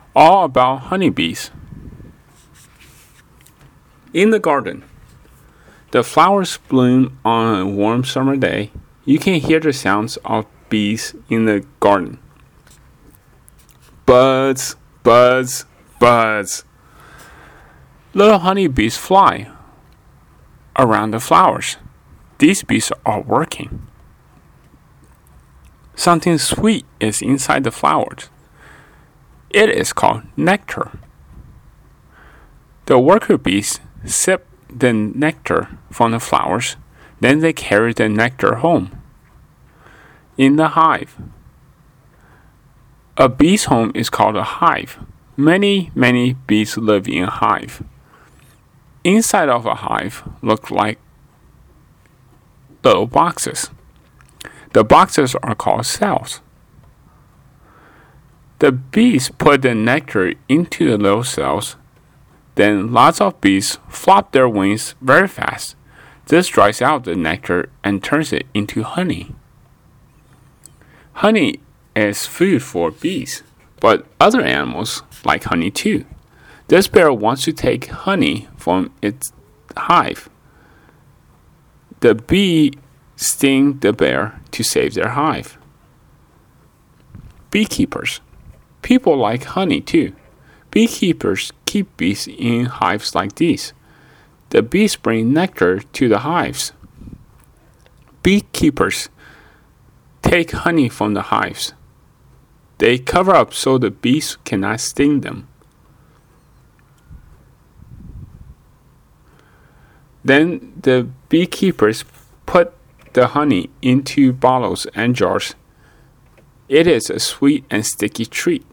all about honeybees. In the garden, the flowers bloom on a warm summer day. You can hear the sounds of bees in the garden. Buzz, buzz, buzz. Little honeybees fly around the flowers. These bees are working. Something sweet is inside the flowers. It is called nectar. The worker bees sip the nectar from the flowers, then they carry the nectar home. In the hive. A bee's home is called a hive. Many bees live in a hive. Inside of a hive look like little boxes. The boxes are called cells. The bees put the nectar into the little cells. Then lots of bees flop their wings very fast. This dries out the nectar and turns it into honey. Honey is food for bees, but other animals like honey too. This bear wants to take honey from its hive. The bee sting the bear to save their hive. Beekeepers. People like honey too. Beekeepers keep bees in hives like these. The bees bring nectar to the hives. Beekeepers take honey from the hives. They cover up so the bees cannot sting them. Then the beekeepers put the honey into bottles and jars. It is a sweet and sticky treat.